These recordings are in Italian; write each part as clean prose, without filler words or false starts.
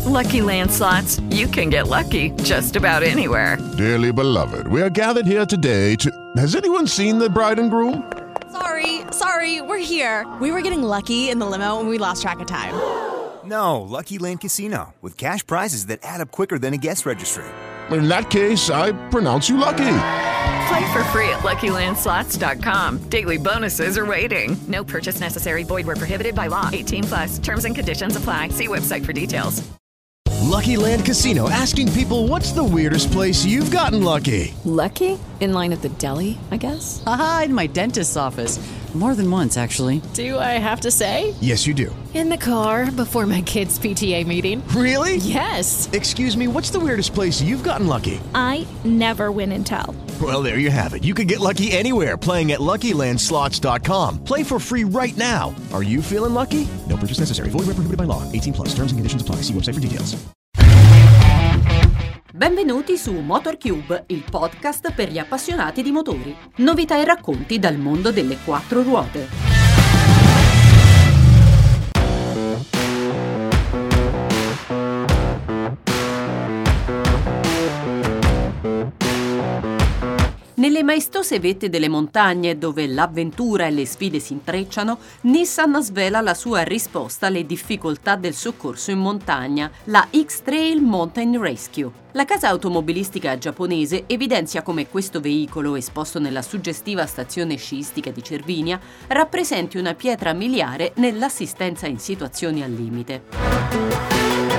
Lucky Land Slots, you can get lucky just about anywhere. Dearly beloved, we are gathered here today to... Has anyone seen the bride and groom? Sorry, we're here. We were getting lucky in the limo and we lost track of time. No, Lucky Land Casino, with cash prizes that add up quicker than a guest registry. In that case, I pronounce you lucky. Play for free at LuckyLandSlots.com. Daily bonuses are waiting. No purchase necessary. Void where prohibited by law. 18+. Terms and conditions apply. See website for details. Lucky Land Casino, asking people, what's the weirdest place you've gotten lucky? Lucky? In line at the deli, I guess? Aha, in my dentist's office. More than once, actually. Do I have to say? Yes, you do. In the car before my kids' PTA meeting. Really? Yes. Excuse me, what's the weirdest place you've gotten lucky? I never win and tell. Well, there you have it. You can get lucky anywhere, playing at LuckyLandSlots.com. Play for free right now. Are you feeling lucky? No purchase necessary. Void where prohibited by law. 18+. Terms and conditions apply. See website for details. Benvenuti su MotorCube, il podcast per gli appassionati di motori. Novità e racconti dal mondo delle quattro ruote. Nelle maestose vette delle montagne, dove l'avventura e le sfide si intrecciano, Nissan svela la sua risposta alle difficoltà del soccorso in montagna, la X-Trail Mountain Rescue. La casa automobilistica giapponese evidenzia come questo veicolo, esposto nella suggestiva stazione sciistica di Cervinia, rappresenti una pietra miliare nell'assistenza in situazioni al limite.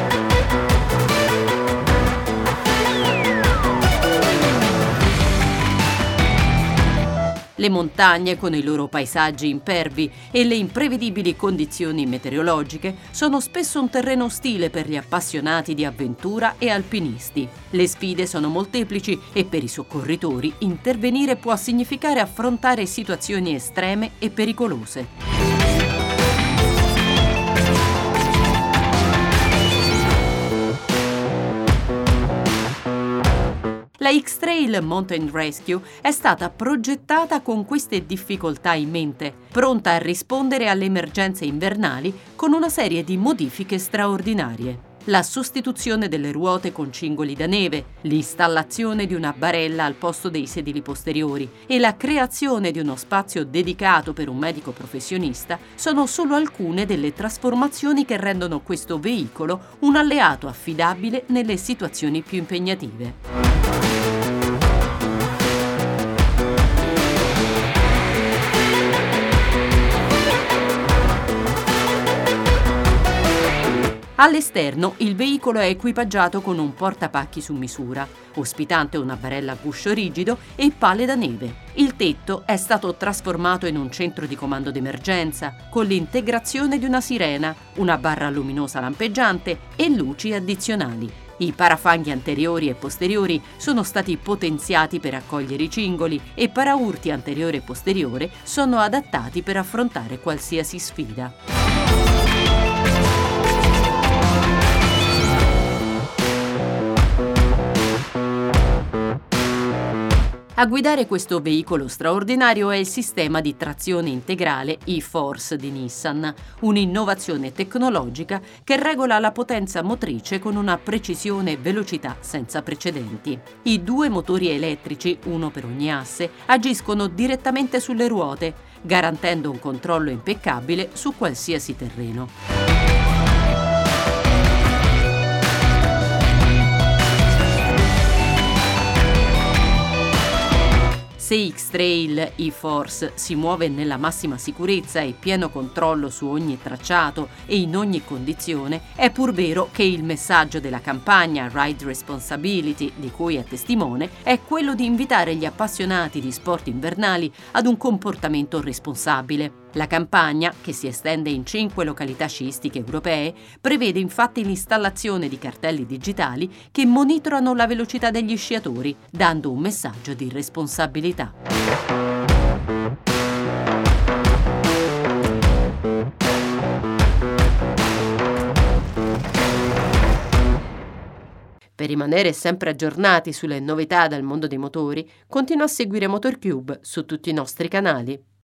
Le montagne, con i loro paesaggi impervi e le imprevedibili condizioni meteorologiche, sono spesso un terreno ostile per gli appassionati di avventura e alpinisti. Le sfide sono molteplici e per i soccorritori intervenire può significare affrontare situazioni estreme e pericolose. La X-Trail Mountain Rescue è stata progettata con queste difficoltà in mente, pronta a rispondere alle emergenze invernali con una serie di modifiche straordinarie. La sostituzione delle ruote con cingoli da neve, l'installazione di una barella al posto dei sedili posteriori e la creazione di uno spazio dedicato per un medico professionista sono solo alcune delle trasformazioni che rendono questo veicolo un alleato affidabile nelle situazioni più impegnative. All'esterno il veicolo è equipaggiato con un portapacchi su misura, ospitante una barella a guscio rigido e pale da neve. Il tetto è stato trasformato in un centro di comando d'emergenza, con l'integrazione di una sirena, una barra luminosa lampeggiante e luci addizionali. I parafanghi anteriori e posteriori sono stati potenziati per accogliere i cingoli e paraurti anteriore e posteriore sono adattati per affrontare qualsiasi sfida. A guidare questo veicolo straordinario è il sistema di trazione integrale e-Force di Nissan, un'innovazione tecnologica che regola la potenza motrice con una precisione e velocità senza precedenti. I due motori elettrici, uno per ogni asse, agiscono direttamente sulle ruote, garantendo un controllo impeccabile su qualsiasi terreno. Se X-Trail e-Force si muove nella massima sicurezza e pieno controllo su ogni tracciato e in ogni condizione, è pur vero che il messaggio della campagna Ride Responsibility, di cui è testimone, è quello di invitare gli appassionati di sport invernali ad un comportamento responsabile. La campagna, che si estende in 5 località sciistiche europee, prevede infatti l'installazione di cartelli digitali che monitorano la velocità degli sciatori, dando un messaggio di responsabilità. Per rimanere sempre aggiornati sulle novità dal mondo dei motori, continua a seguire MotorCube su tutti i nostri canali.